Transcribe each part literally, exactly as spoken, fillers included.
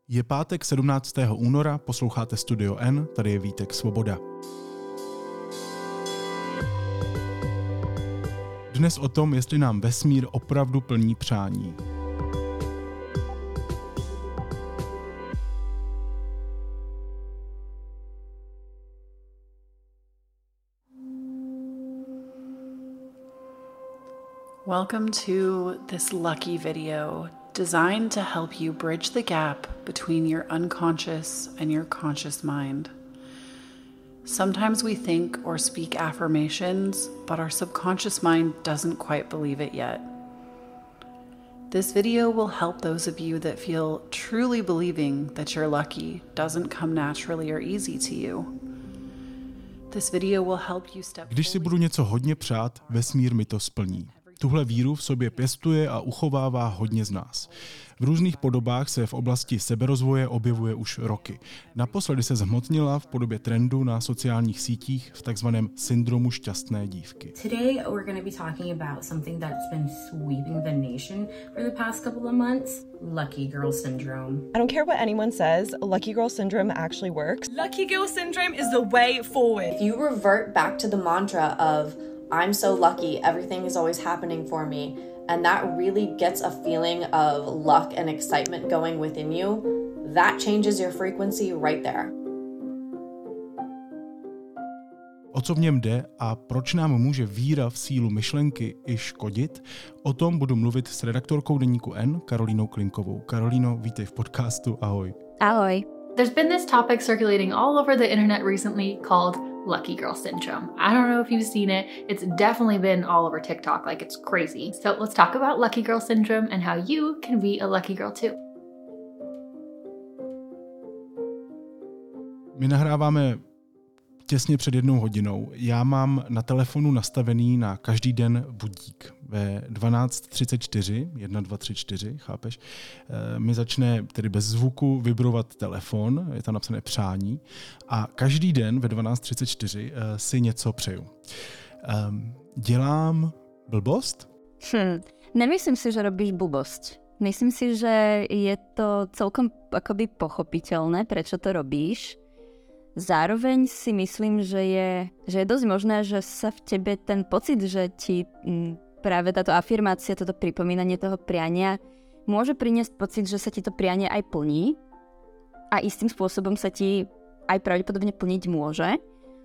Je pátek sedmnáctého února, posloucháte Studio N, tady je Vítek Svoboda. Dnes o tom, jestli nám vesmír opravdu plní přání. Welcome to this lucky video designed to help you bridge the gap between your unconscious and your conscious mind. Sometimes we think or speak affirmations, but our subconscious mind doesn't quite believe it yet. This video will help those of you that feel truly believing that you're lucky doesn't come naturally or easy to you. This video will help you step. Když si budu něco hodně přát, vesmír mi to splní. Tuhle víru v sobě pěstuje a uchovává hodně z nás. V různých podobách se v oblasti seberozvoje objevuje už roky. Naposledy se zhmotnila v podobě trendu na sociálních sítích v takzvaném syndromu šťastné dívky. Today we're going to be talking about something that's been sweeping the nation for the past couple of months, lucky girl syndrome. I don't care what anyone says, lucky girl syndrome actually works. Lucky girl syndrome is the way forward. If you revert back to the mantra of I'm so lucky, everything is always happening for me, and that really gets a feeling of luck and excitement going within you, that changes your frequency right there. O co v něm jde a proč nám může víra v sílu myšlenky i škodit? O tom budu mluvit s redaktorkou deníku N, Karolínou Klinkovou. Karolíno, vítej v podcastu, ahoj. Ahoj. There's been this topic circulating all over the internet recently called Lucky Girl Syndrome. I don't know if you've seen it. It's definitely been all over TikTok, like it's crazy. So let's talk about Lucky Girl Syndrome and how you can be a lucky girl too. My nahráváme těsně před jednou hodinou. Já mám na telefonu nastavený na každý den budík. Ve dvanáct třicet čtyři, jedna, dva, tři, čtyři, chápeš, mi začne tedy bez zvuku vibrovat telefon, je tam napsané přání a každý den ve dvanáct třicet čtyři si něco přeju. Dělám blbost? Hm, nemyslím si, že robíš blbosť. Myslím si, že je to celkom akoby pochopiteľné, prečo to robíš. Zároveň si myslím, že je, že je dosť možné, že sa v tebe ten pocit, že ti m, práve táto afirmácia, toto pripomínanie toho priania môže priniesť pocit, že sa ti to prianie aj plní a istým spôsobom sa ti aj pravdepodobne plniť môže.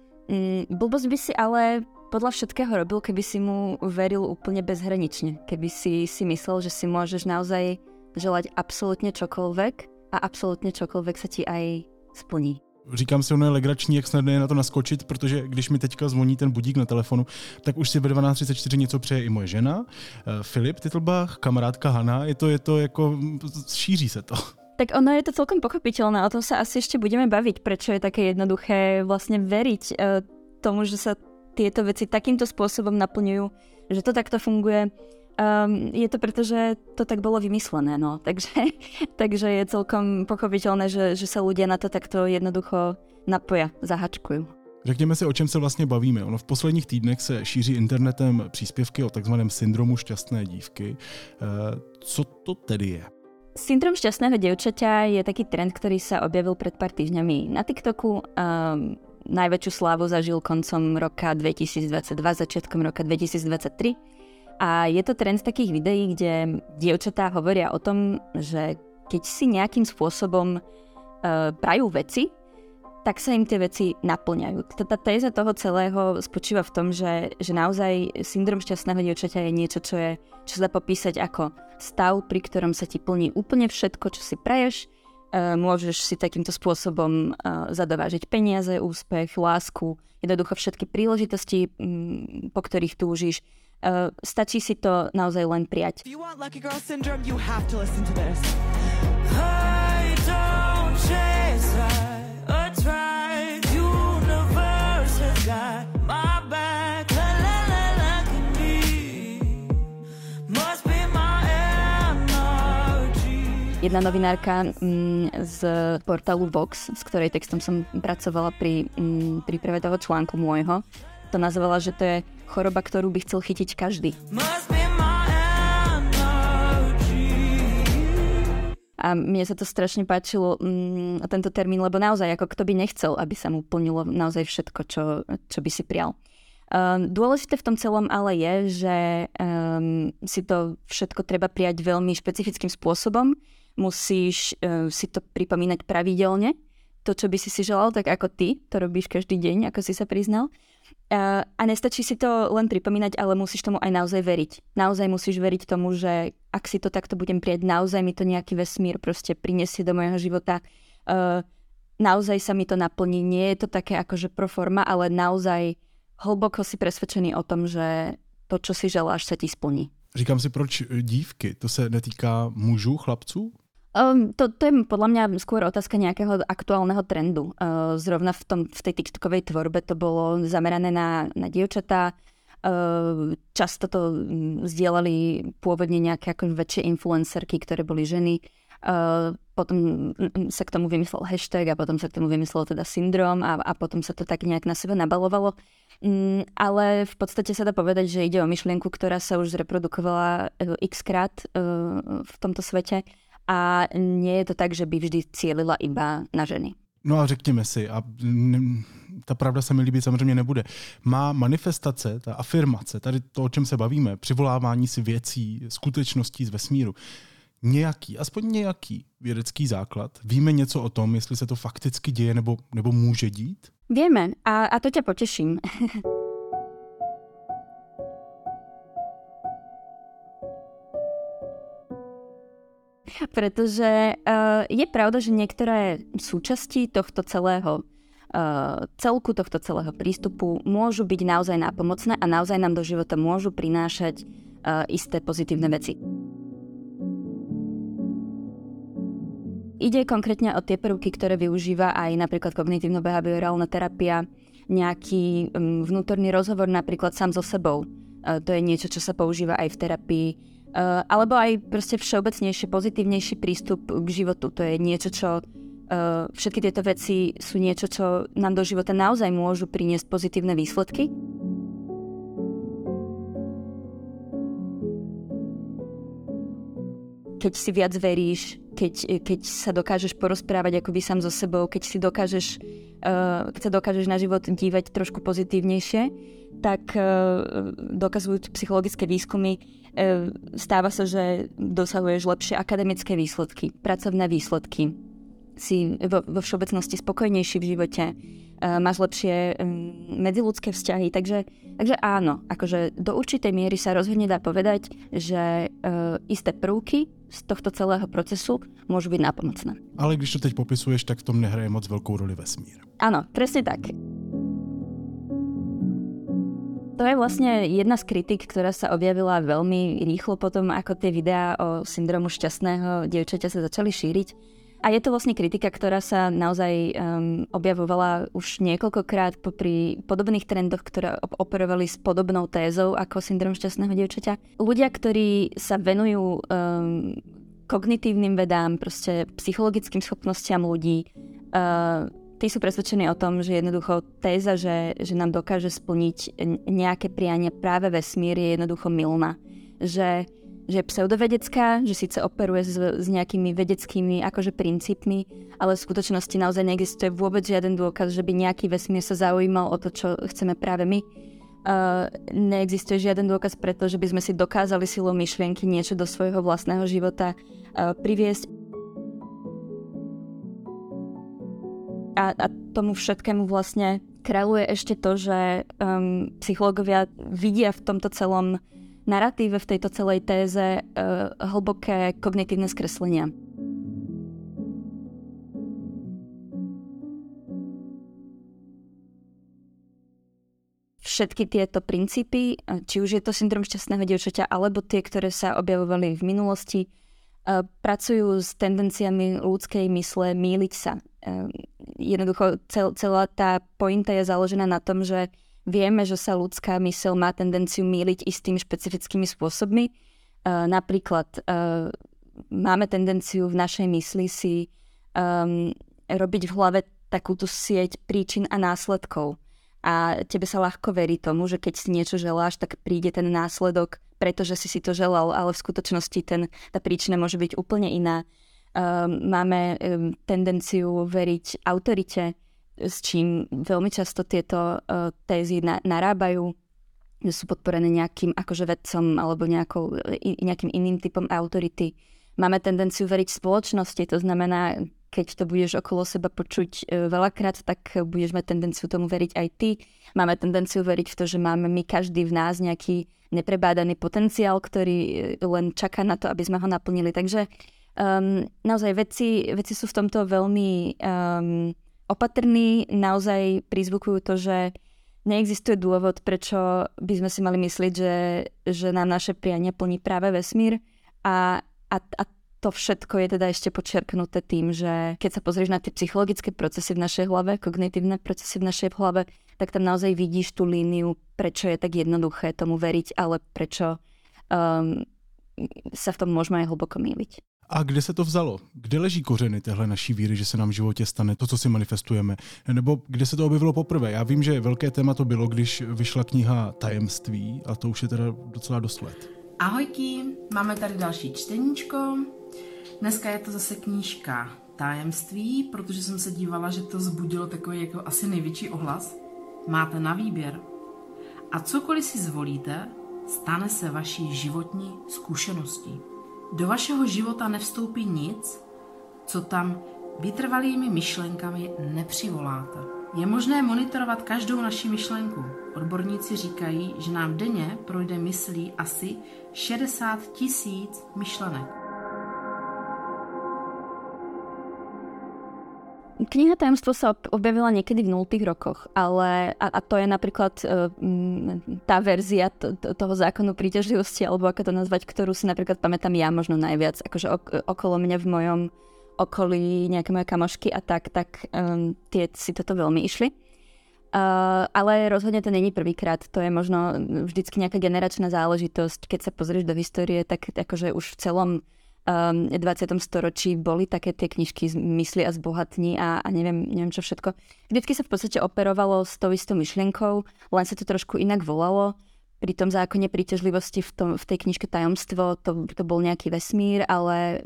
Mm, blbosť by si ale podľa všetkého robil, keby si mu veril úplne bezhranične. Keby si si myslel, že si môžeš naozaj želať absolútne čokoľvek a absolútne čokoľvek sa ti aj splní. Říkám si, ono je legrační, jak snadné je na to naskočit, protože když mi teďka zvoní ten budík na telefonu, tak už si ve dvanáct třicet čtyři něco přeje i moje žena, Filip Titlbach, kamarádka Hana, je to, je to jako, šíří se to. Tak ono je to celkom pochopiteľné, o tom sa asi ešte budeme baviť, prečo je také jednoduché vlastne veriť e, tomu, že sa tieto veci takýmto spôsobom naplňujú, že to takto funguje. Um, je to preto, že to tak bolo vymyslené, no. Takže, takže je celkom pochopiteľné, že, že sa ľudia na to takto jednoducho napoja, zahačkujú. Řekněme si, o čem se vlastně bavíme. Ono v posledních týdnech se šíří internetem příspěvky o takzvaném syndromu šťastné dívky. E, co to tedy je? Syndrom šťastného dievčaťa je taký trend, ktorý sa objavil pred pár týždňami na TikToku. Um, najväčšiu slávu zažil koncom roka dvetisícdvadsaťdva, začiatkom roka dvetisícdvadsaťtri. A je to trend takých videí, kde dievčatá hovoria o tom, že keď si nejakým spôsobom uh, prajú veci, tak sa im tie veci naplňajú. Tá téza toho celého spočíva v tom, že, že naozaj syndrom šťastného dievčaťa je niečo, čo je, čo sa dá popísať ako stav, pri ktorom sa ti plní úplne všetko, čo si praješ. Uh, môžeš si takýmto spôsobom uh, zadovážiť peniaze, úspech, lásku, jednoducho všetky príležitosti, um, po ktorých túžiš. Uh, stačí si to naozaj len prijať. If you want lucky girl syndrome, you have to listen to this. I don't chase, I try. Universe has got my back. La la la lucky me. Must be my energy. Jedna novinárka mm, z portálu Vox, s ktorej textom som pracovala pri mm, príprave toho článku môjho, to nazvala, že to je choroba, ktorú by chcel chytiť každý. A mne sa to strašne páčilo, mm, tento termín, lebo naozaj, ako kto by nechcel, aby sa mu plnilo naozaj všetko, čo, čo by si prial. Um, dôležité v tom celom ale je, že um, si to všetko treba prijať veľmi špecifickým spôsobom. Musíš uh, si to pripomínať pravidelne. To, čo by si si želal, tak ako ty to robíš každý deň, ako si sa priznal. Uh, a nestačí si to len pripomínať, ale musíš tomu aj naozaj veriť. Naozaj musíš veriť tomu, že ak si to takto budem prijať, naozaj mi to nejaký vesmír proste prinesie do môjho života. Uh, naozaj sa mi to naplní. Nie je to také akože pro forma, ale naozaj hlboko si presvedčený o tom, že to, čo si želáš, sa ti splní. Říkám si, proč dívky? To se netýká mužů, chlapců? Um, to, to je podľa mňa skôr otázka nejakého aktuálneho trendu. Uh, zrovna v, tom, v tej TikTokovej tvorbe to bolo zamerané na, na dievčatá. Uh, často to zdieľali pôvodne nejaké ako väčšie influencerky, ktoré boli ženy. Uh, potom sa k tomu vymyslel hashtag a potom sa k tomu vymyslel teda syndrom a, a potom sa to tak nejak na seba nabalovalo. Um, ale v podstate sa dá povedať, že ide o myšlienku, ktorá sa už zreprodukovala uh, x krát uh, v tomto svete. A nie je to tak, že by vždy cílila iba na ženy. No a řekněme si, a ta pravda se mi líbit samozřejmě nebude, má manifestace, ta afirmace, tady to, o čem se bavíme, přivolávání si věcí, skutečností z vesmíru, nějaký, aspoň nějaký vědecký základ? Víme něco o tom, jestli se to fakticky děje nebo, nebo může dít? Vieme a, a to ťa poteším. Pretože uh, je pravda, že niektoré súčasti tohto celého uh, celku, tohto celého prístupu môžu byť naozaj nápomocné a naozaj nám do života môžu prinášať uh, isté pozitívne veci. Ide konkrétne o tie prvky, ktoré využíva aj napríklad kognitívno-behaviorálna terapia, nejaký um, vnútorný rozhovor napríklad sám so sebou. Uh, to je niečo, čo sa používa aj v terapii. Uh, alebo aj proste všeobecnejšie, pozitívnejší prístup k životu. To je niečo, čo... Uh, všetky tieto veci sú niečo, čo nám do života naozaj môžu priniesť pozitívne výsledky. Keď si viac veríš, keď, keď sa dokážeš porozprávať akoby sám so sebou, keď si dokážeš, uh, keď sa dokážeš na život dívať trošku pozitívnejšie, tak uh, dokazujú psychologické výskumy, uh, stáva sa, že dosahuješ lepšie akademické výsledky, pracovné výsledky, si vo, vo všeobecnosti spokojnejší v živote, uh, máš lepšie um, medziľudské vzťahy, takže, takže áno, akože do určitej miery sa rozhodne dá povedať, že uh, isté prvky z tohto celého procesu môžu byť nápomocné. Ale když to teď popisuješ, tak v tom nehraje moc veľkou roli vesmír. Áno, presne tak. To je vlastne jedna z kritik, ktorá sa objavila veľmi rýchlo potom, ako tie videá o syndromu šťastného dievčaťa sa začali šíriť. A je to vlastne kritika, ktorá sa naozaj um, objavovala už niekoľkokrát popri podobných trendoch, ktoré operovali s podobnou tézou ako syndrom šťastného dievčaťa. Ľudia, ktorí sa venujú um, kognitívnym vedám, proste psychologickým schopnostiam ľudí, uh, tí sú presvedčení o tom, že jednoducho téza, že, že nám dokáže splniť nejaké priania práve vesmír, je jednoducho mylná. Že, že je pseudovedecká, že síce operuje s, s nejakými vedeckými akože princípmi, ale v skutočnosti naozaj neexistuje vôbec žiaden dôkaz, že by nejaký vesmír sa zaujímal o to, čo chceme práve my. Uh, neexistuje žiaden dôkaz preto, že by sme si dokázali silou myšlienky niečo do svojho vlastného života uh, priviesť. A, a tomu všetkému vlastne kráľuje ešte to, že um, psychológovia vidia v tomto celom naratíve, v tejto celej téze uh, hlboké kognitívne skreslenia. Všetky tieto princípy, či už je to syndrom šťastného dievčaťa, alebo tie, ktoré sa objavovali v minulosti, uh, pracujú s tendenciami ľudskej mysle mýliť sa. Uh, jednoducho cel, celá tá pointa je založená na tom, že vieme, že sa ľudská myseľ má tendenciu mýliť istými špecifickými spôsobmi. Uh, napríklad uh, máme tendenciu v našej mysli si um, robiť v hlave takúto sieť príčin a následkov. A tebe sa ľahko verí tomu, že keď si niečo želáš, tak príde ten následok, pretože si si to želal, ale v skutočnosti ten, tá príčina môže byť úplne iná. máme um, tendenciu veriť autorite, s čím veľmi často tieto uh, tézy na, narábajú, že sú podporené nejakým akože vedcom alebo nejakou, i, nejakým iným typom autority. Máme tendenciu veriť spoločnosti, to znamená, keď to budeš okolo seba počuť uh, veľakrát, tak budeš mať tendenciu tomu veriť aj ty. Máme tendenciu veriť v to, že máme my každý v nás nejaký neprebádaný potenciál, ktorý len čaká na to, aby sme ho naplnili. Takže um, naozaj vedci, vedci sú v tomto veľmi um, opatrní, naozaj prizvukujú to, že neexistuje dôvod, prečo by sme si mali myslieť, že, že nám naše priania plní práve vesmír a, a, a to všetko je teda ešte podčiarknuté tým, že keď sa pozrieš na tie psychologické procesy v našej hlave, kognitívne procesy v našej hlave, tak tam naozaj vidíš tú líniu, prečo je tak jednoduché tomu veriť, ale prečo um, sa v tom môžeme aj hlboko mýliť. A kde se to vzalo? Kde leží kořeny téhle naší víry, že se nám v životě stane to, co si manifestujeme? Nebo kde se to objevilo poprvé? Já vím, že velké téma to bylo, když vyšla kniha Tajemství, a to už je teda docela dost let. Ahojky, máme tady další čteníčko. Dneska je to zase knížka Tajemství, protože jsem se dívala, že to vzbudilo takový jako asi největší ohlas. Máte na výběr. A cokoliv si zvolíte, stane se vaší životní zkušeností. Do vašeho života nevstoupí nic, co tam vytrvalými myšlenkami nepřivoláte. Je možné monitorovat každou naši myšlenku. Odborníci říkají, že nám denně projde myslí asi šedesát tisíc myšlenek. Kniha Tajemstvo sa objavila niekedy v nultých rokoch, ale a, a to je napríklad uh, tá verzia t- t- toho zákonu príťažlivosti, alebo ako to nazvať, ktorú si napríklad pamätám ja možno najviac, akože ok- okolo mňa v mojom okolí nejaké moje kamošky a tak, tak um, tie si toto veľmi išli. Uh, ale rozhodne to není prvýkrát, to je možno vždycky nejaká generačná záležitosť. Keď sa pozrieš do histórie, tak akože už v celom Um, dvadsiatom storočí boli také tie knižky z mysli a zbohatní a, a neviem, neviem čo všetko. Vždycky sa v podstate operovalo s tou istou myšlienkou, len sa to trošku inak volalo. Pri tom zákone príťažlivosti v, tom, v tej knižke Tajomstvo to, to bol nejaký vesmír, ale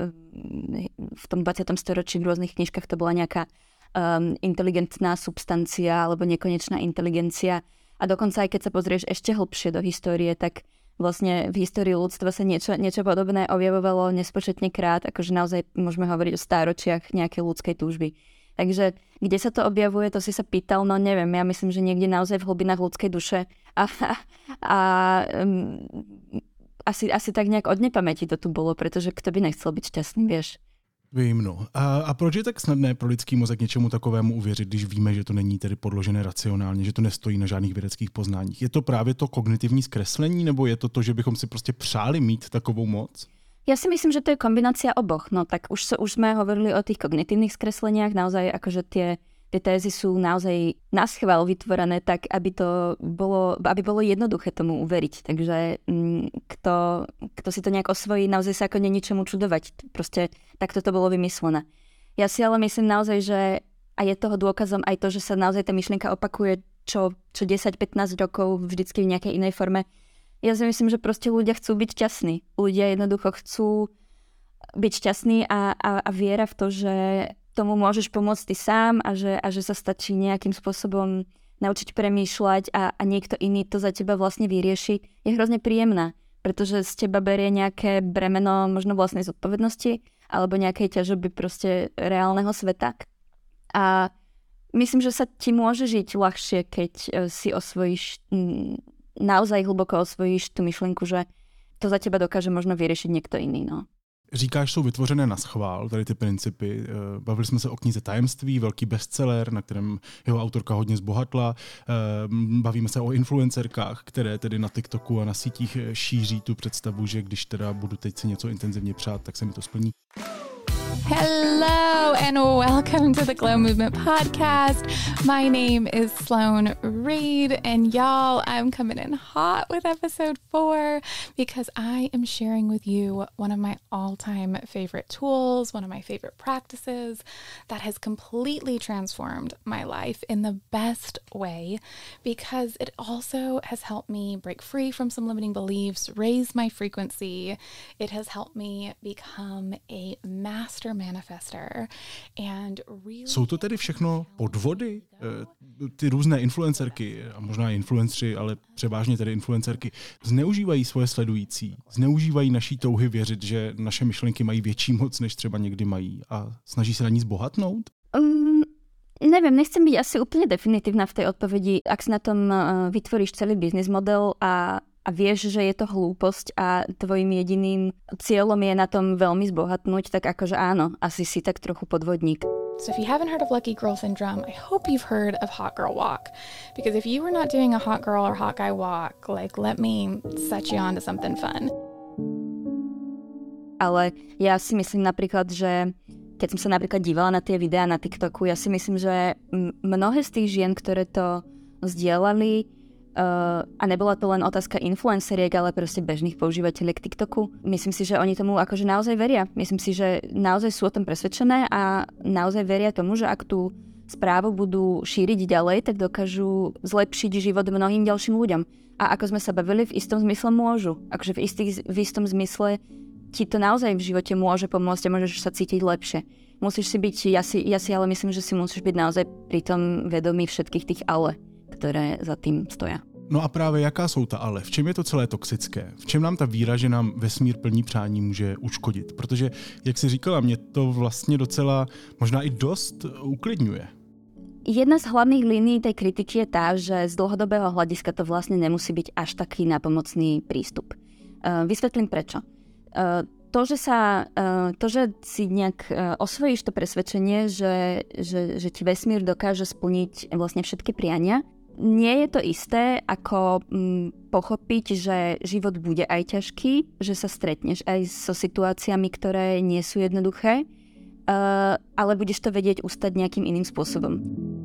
v tom dvadsiatom storočí v rôznych knižkách to bola nejaká um, inteligentná substancia alebo nekonečná inteligencia. A dokonca aj keď sa pozrieš ešte hlbšie do histórie, tak vlastne v histórii ľudstva sa niečo, niečo podobné objavovalo nespočetne krát, akože naozaj môžeme hovoriť o stáročiach nejakej ľudskej túžby. Takže kde sa to objavuje, to si sa pýtal, no neviem, ja myslím, že niekde naozaj v hlbinách ľudskej duše a, a um, asi, asi tak nejak od nepamäti to tu bolo, pretože kto by nechcel byť šťastný, vieš. Vím, no. A, a proč je tak snadné pro lidský mozek něčemu takovému uvěřit, když víme, že to není tedy podložené racionálně, že to nestojí na žádných vědeckých poznáních? Je to právě to kognitivní zkreslení, nebo je to to, že bychom si prostě přáli mít takovou moc? Ja si myslím, že to je kombinácia oboch. No tak už, so, už sme hovorili o tých kognitívnych skresleniach, naozaj akože tie Tie tézy sú naozaj naschvál vytvorené tak, aby to bolo, aby bolo jednoduché tomu uveriť. Takže kto, kto si to nejak osvojí, naozaj sa ako nie ničomu čudovať. Proste takto to bolo vymyslené. Ja si ale myslím naozaj, že a je toho dôkazom aj to, že sa naozaj tá myšlienka opakuje čo, čo desať pätnásť rokov vždycky v nejakej inej forme. Ja si myslím, že proste ľudia chcú byť šťastní. Ľudia jednoducho chcú byť šťastní a, a, a viera v to, že tomu môžeš pomôcť ty sám a že, a že sa stačí nejakým spôsobom naučiť premýšľať a, a niekto iný to za teba vlastne vyrieši, je hrozne príjemná, pretože z teba berie nejaké bremeno možno vlastnej zodpovednosti alebo nejakej ťažoby proste reálneho sveta. A myslím, že sa ti môže žiť ľahšie, keď si osvojíš, naozaj hlboko osvojíš tú myšlienku, že to za teba dokáže možno vyriešiť niekto iný, no. Říkáš, jsou vytvořené na schvál, tady ty principy. Bavili jsme se o knize Tajemství, velký bestseller, na kterém jeho autorka hodně zbohatla. Bavíme se o influencerkách, které tedy na TikToku a na sítích šíří tu představu, že když teda budu teď si něco intenzivně přát, tak se mi to splní. Hello! Hello and welcome to the Glow Movement Podcast. My name is Sloan Reed, and y'all, I'm coming in hot with episode four because I am sharing with you one of my all-time favorite tools, one of my favorite practices that has completely transformed my life in the best way, because it also has helped me break free from some limiting beliefs, raise my frequency. It has helped me become a master manifester and really... Jsou to tedy všechno podvody? Ty různé influencerky, a možná influencři, ale převážně tedy influencerky, zneužívají svoje sledující, zneužívají naší touhy věřit, že naše myšlenky mají větší moc, než třeba někdy mají, a snaží se na ní zbohatnout? Um, neviem, nechcem byť asi úplne definitívna v tej odpovedi. Ak si na tom uh, vytvoríš celý biznis model a a vieš, že je to hlúposť a tvojim jediným cieľom je na tom veľmi zbohatnúť, tak akože áno, asi si tak trochu podvodník. So if you haven't heard of Lucky Girl Syndrome, I hope you've heard of Hot Girl Walk. Because if you were not doing a hot girl or hot guy walk, like, let me set you on to something fun. Ale ja si myslím napríklad, že keď som sa napríklad dívala na tie videá na TikToku, ja si myslím, že mnohé z tých žien, ktoré to zdieľali, Uh, a nebola to len otázka influenceriek, ale proste bežných používateľiek TikToku. Myslím si, že oni tomu akože naozaj veria. Myslím si, že naozaj sú o tom presvedčené a naozaj veria tomu, že ak tú správu budú šíriť ďalej, tak dokážu zlepšiť život mnohým ďalším ľuďom. A ako sme sa bavili, v istom zmysle môžu. Akože v, istý, v istom zmysle ti to naozaj v živote môže pomôcť a môžeš sa cítiť lepšie. Musíš si byť, ja si, ja si ale myslím, že si musíš byť naozaj pri tom vedomý všetkých tých ale, které za tím stojí. No a právě jaká jsou ta ale? V čem je to celé toxické? V čem nám ta víra, že nám vesmír plní přání, může uškodit? Protože, jak jsi říkala, mě to vlastně docela, možná i dost uklidňuje. Jedna z hlavných línií tej kritiky je tá, že z dlhodobého hľadiska to vlastne nemusí byť až taký nápomocný prístup. Uh, vysvetlím prečo. Uh, to, že sa, uh, to, že si nejak uh, osvojíš to presvedčenie, že, že, že ti vesmír dokáže splniť vlastne všetky priania, nie je to isté, ako mm, pochopiť, že život bude aj ťažký, že sa stretneš aj so situáciami, ktoré nie sú jednoduché, uh, ale budeš to vedieť ustať nejakým iným spôsobom.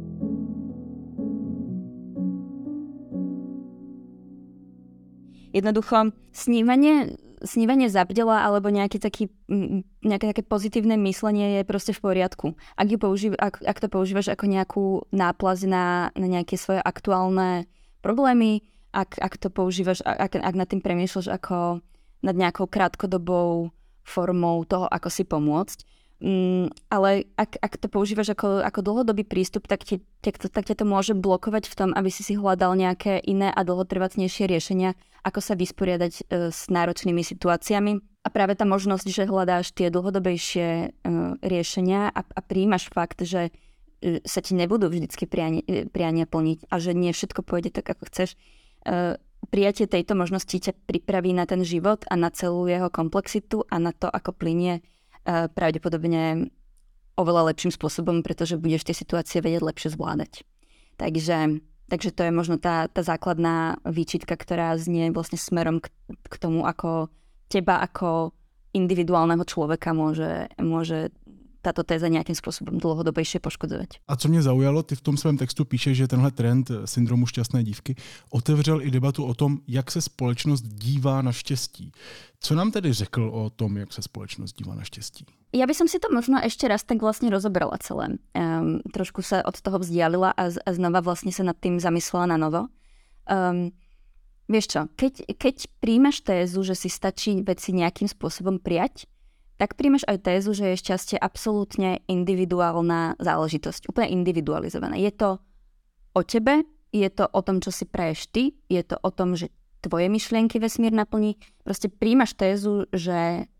Jednoducho, snívanie, snívanie zabdela alebo nejaké, taký, nejaké také pozitívne myslenie je proste v poriadku. Ak, ju použív, ak, ak to používaš ako nejakú náplaz na, na nejaké svoje aktuálne problémy, ak, ak to používaš, ak, ak nad tým premýšľaš ako nad nejakou krátkodobou formou toho, ako si pomôcť. Mm, ale ak, ak to používaš ako, ako dlhodobý prístup, tak, ti, tak, to, tak ťa to môže blokovať v tom, aby si si hľadal nejaké iné a dlhotrvacnejšie riešenia, ako sa vysporiadať e, s náročnými situáciami. A práve tá možnosť, že hľadáš tie dlhodobejšie e, riešenia a, a príjmaš fakt, že e, sa ti nebudú vždycky priania, priania plniť a že nie všetko pôjde tak, ako chceš. E, prijatie tejto možnosti ťa pripraví na ten život a na celú jeho komplexitu a na to, ako plynie pravdepodobne oveľa lepším spôsobom, pretože budeš tie situácie vedieť lepšie zvládať. Takže, takže to je možno tá, tá základná výčitka, ktorá znie vlastne smerom k, k tomu, ako teba ako individuálneho človeka môže, môže táto téza nějakým způsobem dlouhodobější poškozovat. A co mě zaujalo, ty v tom svém textu píšeš, že tenhle trend syndromu šťastné dívky otevřel i debatu o tom, jak se společnost dívá na štěstí. Co nám tedy řekl o tom, jak se společnost dívá na štěstí? Ja by som si to možno ešte raz tak vlastne rozobrala celé. Um, trošku sa od toho vzdialila a, a znova vlastne sa nad tým zamyslela na novo. Um, vieš čo, keď, keď príjmaš tézu, že si stačí veci nejakým spôsobom prijať, tak príjmeš aj tézu, že je šťastie absolútne individuálna záležitosť. Úplne individualizovaná. Je to o tebe, je to o tom, čo si praješ ty, je to o tom, že tvoje myšlienky vesmír naplní. Proste príjmaš tézu, že,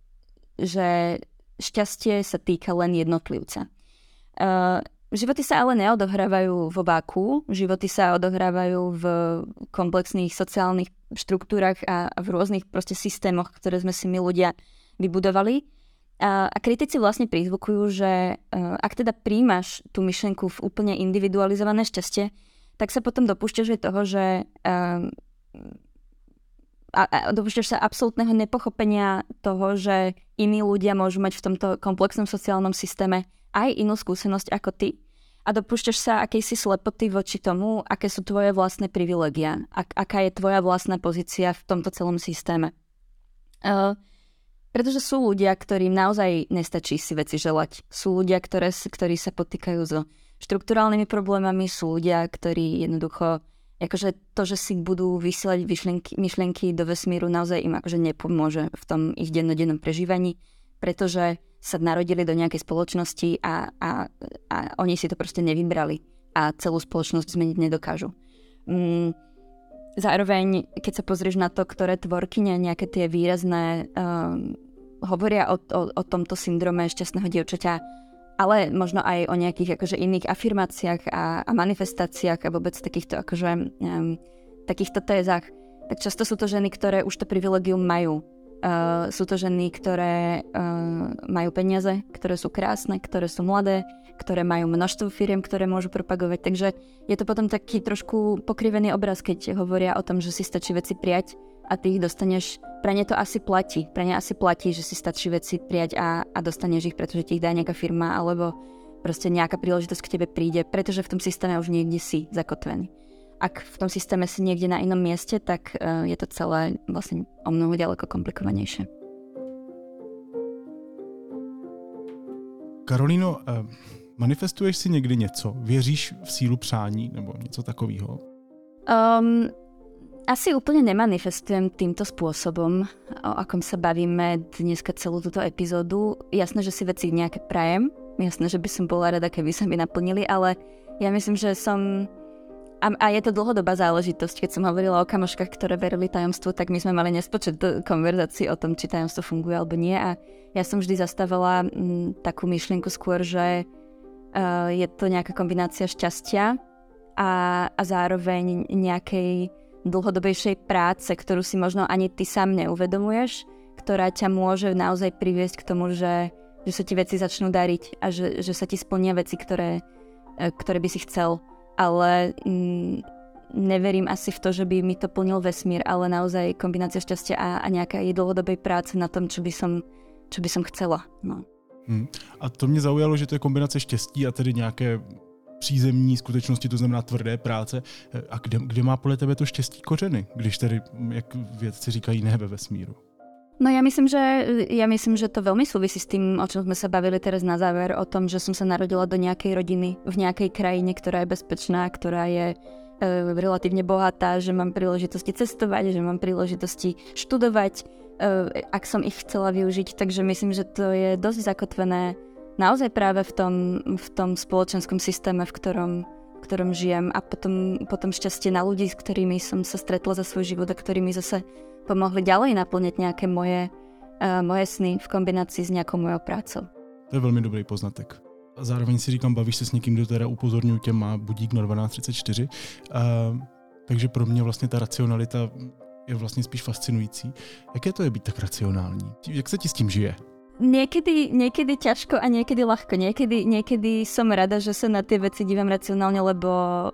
že šťastie sa týka len jednotlivca. Uh, životy sa ale neodohrávajú vo váku, životy sa odohrávajú v komplexných sociálnych štruktúrach a v rôznych proste systémoch, ktoré sme si my ľudia vybudovali. A, a kritici vlastne prizvukujú, že uh, ak teda príjmaš tú myšlenku v úplne individualizované šťastie, tak sa potom dopúšťaš aj toho, že uh, a, a dopúšťaš sa absolútneho nepochopenia toho, že iní ľudia môžu mať v tomto komplexnom sociálnom systéme aj inú skúsenosť ako ty. A dopúšťaš sa akejsi slepoty voči tomu, aké sú tvoje vlastné privilegia, ak, aká je tvoja vlastná pozícia v tomto celom systéme. Uh, pretože sú ľudia, ktorým naozaj nestačí si veci želať. Sú ľudia, ktoré, ktorí sa potýkajú so štrukturálnymi problémami, sú ľudia, ktorí jednoducho akože to, že si budú vysielať myšlienky, myšlienky do vesmíru, naozaj im akože nepomôže v tom ich dennodennom prežívaní, pretože sa narodili do nejakej spoločnosti a, a, a oni si to proste nevybrali a celú spoločnosť zmeniť nedokážu. Mm, zároveň, keď sa pozrieš na to, ktoré tvorkyne, nejaké tie výrazné um, hovoria o, o, o tomto syndrome šťastného dievčaťa, ale možno aj o nejakých akože iných afirmáciách a, a manifestáciách a vôbec takýchto akože um, takýchto tézach, tak často sú to ženy, ktoré už to privilegium majú. Uh, sú to ženy, ktoré uh, majú peniaze, ktoré sú krásne, ktoré sú mladé, ktoré majú množstvo firiem, ktoré môžu propagovať. Takže je to potom taký trošku pokrivený obraz, keď hovoria o tom, že si stačí veci prijať a ty ich dostaneš. Pre ne to asi platí. Pre ne asi platí, že si stačí veci prijať a, a dostaneš ich, pretože ti ich dá nejaká firma alebo proste nejaká príležitosť k tebe príde, pretože v tom systéme už niekde si zakotvený. Ak v tom systéme si niekde na inom mieste, tak uh, je to celé vlastne o mnoho ďaleko komplikovanejšie. Karolíno, uh, manifestuješ si někdy něco? Věříš v sílu přání nebo něco takového? Um, Asi úplne nemanifestujem týmto spôsobom, o akom sa bavíme dneska celú túto epizódu. Jasné, že si veci nejaké prajem, jasné, že by som bola rada, keby sa mi naplnili, ale ja myslím, že som... A, a je to dlhodobá záležitosť. Keď som hovorila o kamoškách, ktoré verili tajomstvu, tak my sme mali nespočet konverzácií o tom, či tajomstvo funguje alebo nie. A ja som vždy zastávala m, takú myšlienku skôr, že uh, je to nejaká kombinácia šťastia a, a zároveň nejakej dlhodobejšej práce, ktorú si možno ani ty sám neuvedomuješ, ktorá ťa môže naozaj priviesť k tomu, že, že sa ti veci začnú dariť a že, že sa ti splnia veci, ktoré, ktoré by si chcel. Ale mm, neverím asi v to, že by mi to plnil vesmír, ale naozaj kombinácia šťastia a, a nejaká dlhodobej práce na tom, čo by som, čo by som chcela. No. Hmm. A to mě zaujalo, že to je kombinace štěstí a tedy nějaké přízemní skutečnosti, to znamená tvrdé práce. A kde, kde má podle tebe to štěstí kořeny, když tedy, jak vědci říkají, ne ve vesmíru? No ja myslím, že, ja myslím, že to veľmi súvisí s tým, o čom sme sa bavili teraz na záver, o tom, že som sa narodila do nejakej rodiny, v nejakej krajine, ktorá je bezpečná, ktorá je e, relatívne bohatá, že mám príležitosti cestovať, že mám príležitosti študovať, e, ak som ich chcela využiť. Takže myslím, že to je dosť zakotvené naozaj práve v tom, v tom spoločenskom systéme, v ktorom, v ktorom žijem a potom, potom šťastie na ľudí, s ktorými som sa stretla za svoj život a ktorými zase pomohli ďalej naplňať nejaké moje, uh, moje sny v kombinácii s nejakou mojou prácou. To je velmi dobrý poznatek. A zároveň si říkám, bavíš se s někým, kdo teda upozorňuji tě, má budík na dvanáct třicet čtyři. Uh, takže pro mě vlastně ta racionalita je vlastně spíš fascinující. Jaké to je být tak racionální? Jak se ti s tím žije? Niekedy, niekedy ťažko a niekedy ľahko. Niekedy, niekedy som rada, že sa na tie veci dívam racionálne, lebo,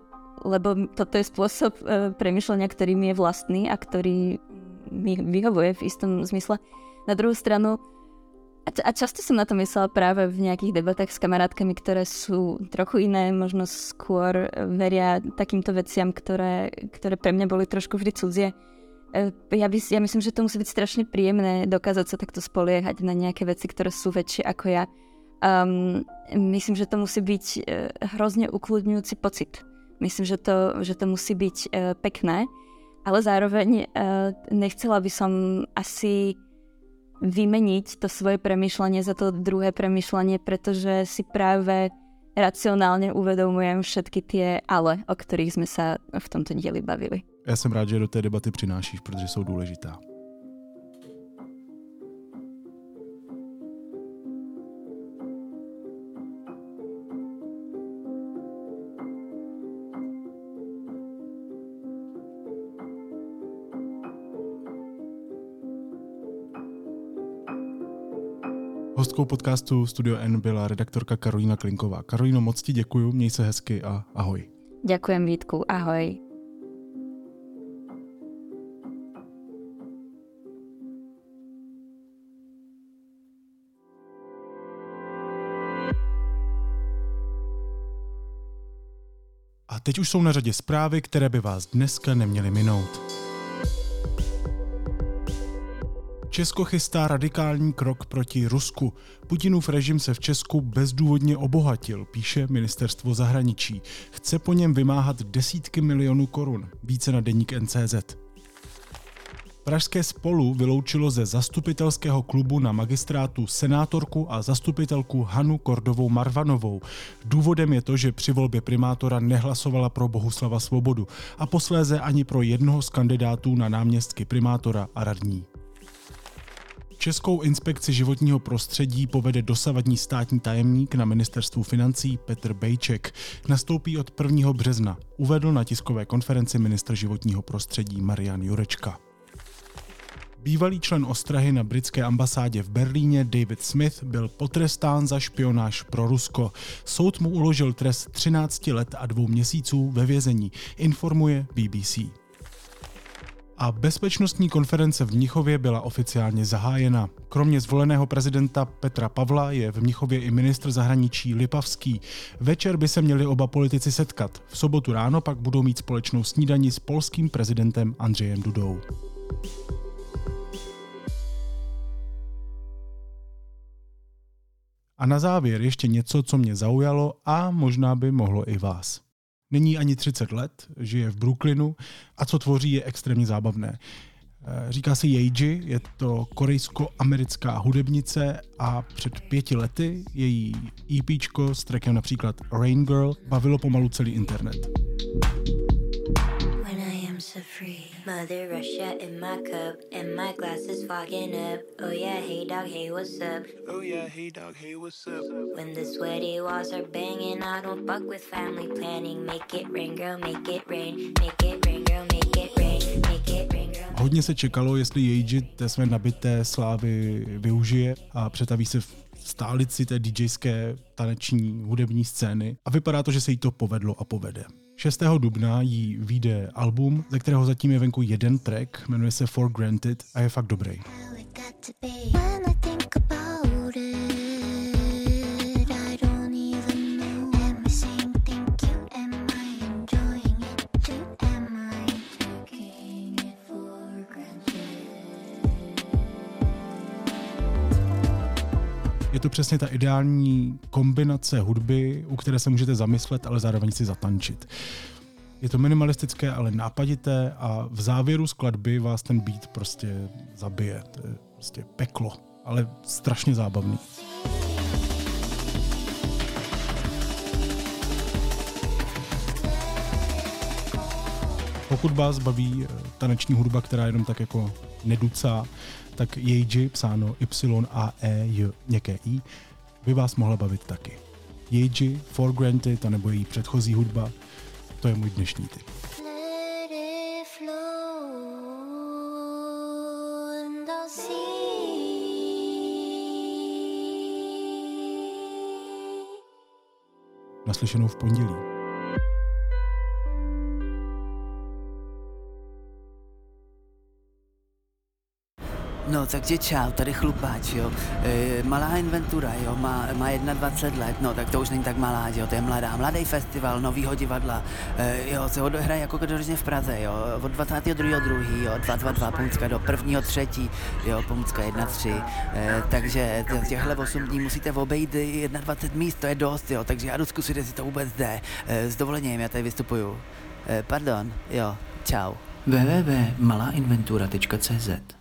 lebo toto je spôsob uh, premýšľania, ktorý mi je vlastný a ktorý mi vyhovuje v istom zmysle. Na druhú stranu, a, a často som na to myslela práve v nejakých debatách s kamarátkami, ktoré sú trochu iné, možno skôr veria takýmto veciam, ktoré, ktoré pre mňa boli trošku vždy cudzie. Ja, by, ja myslím, že to musí byť strašne príjemné dokázať sa takto spoliehať na nejaké veci, ktoré sú väčšie ako ja. Um, myslím, že to musí byť uh, hrozne ukludňujúci pocit. Myslím, že to, že to musí byť uh, pekné, ale zároveň uh, nechcela by som asi vymeniť to svoje premýšľanie za to druhé premýšľanie, pretože si práve racionálne uvedomujem všetky tie ale, o ktorých sme sa v tomto dieli bavili. Já jsem rád, že do té debaty přinášíš, protože jsou důležitá. Hostkou podcastu Studio N byla redaktorka Karolína Klinková. Karolíno, moc ti děkuju, měj se hezky a ahoj. Ďakujem, Vítku, ahoj. A teď už jsou na řadě zprávy, které by vás dneska neměly minout. Česko chystá radikální krok proti Rusku. Putinův režim se v Česku bezdůvodně obohatil, píše ministerstvo zahraničí. Chce po něm vymáhat desítky milionů korun, více na deník N C Z. Pražské Spolu vyloučilo ze zastupitelského klubu na magistrátu senátorku a zastupitelku Hanu Kordovou Marvanovou. Důvodem je to, že při volbě primátora nehlasovala pro Bohuslava Svobodu a posléze ani pro jednoho z kandidátů na náměstky primátora a radní. Českou inspekci životního prostředí povede dosavadní státní tajemník na ministerstvu financí Petr Bejček. Nastoupí od prvního března, uvedl na tiskové konferenci ministr životního prostředí Marian Jurečka. Bývalý člen ostrahy na britské ambasádě v Berlíně David Smith byl potrestán za špionáž pro Rusko. Soud mu uložil trest třináct let a dvou měsíců ve vězení, informuje B B C. A bezpečnostní konference v Mnichově byla oficiálně zahájena. Kromě zvoleného prezidenta Petra Pavla je v Mnichově i ministr zahraničí Lipavský. Večer by se měli oba politici setkat. V sobotu ráno pak budou mít společnou snídani s polským prezidentem Andřejem Dudou. A na závěr ještě něco, co mě zaujalo a možná by mohlo i vás. Není ani třicet let, žije v Brooklynu a co tvoří je extrémně zábavné. Říká se Yeji, je to korejsko-americká hudebnice a před pěti lety její EPčko s trackem například Rain Girl bavilo pomalu celý internet. Mother Russia in my cup, and my glass is fogging up. Oh yeah, hey dog, hey what's up? Oh yeah, hey dog, hey what's up? When the sweaty walls are banging, I don't fuck with family planning. Make it rain, girl, make it rain. Make it rain, girl, make it rain. Make it rain, girl. Hodně se čekalo, jestli Yeji té své nabité slávy využije a přetaví se v stálici té DJské taneční hudební scény a vypadá to, že se jí to povedlo a povede. šestého dubna jí vyjde album, ze kterého zatím je venku jeden track, jmenuje se For Granted a je fakt dobrý. Je to přesně ta ideální kombinace hudby, u které se můžete zamyslet, ale zároveň si zatančit. Je to minimalistické, ale nápadité a v závěru skladby vás ten beat prostě zabije. To je prostě peklo, ale strašně zábavný. Pokud vás baví taneční hudba, která jenom tak jako neducá, tak Yeji, psáno Y A E J měkké I, by vás mohla bavit taky. Yeji, For Granted, anebo její předchozí hudba, to je můj dnešní tip. Naslyšenou v pondělí. No, takže čau, tady chlupáč, jo. E, malá inventura, jo, má, má dvacet jedna let, no, tak to už není tak malá, jo, to je mladá. Mladý festival, novýho divadla, e, jo, se odehraje jako každoročně v Praze, jo, od dvacátého druhého druhého jo, dva dva dva Pomůcka do prvního třetí jo, Pomůcka jedna tři, e, takže těchhle osm dní musíte obejít dvacet jedna míst, to je dost, jo, takže já jdu zkusit, jestli to vůbec jde. E, s dovolením, já tady vystupuju. E, pardon, jo, čau. w w w tečka malá inventura tečka cé zet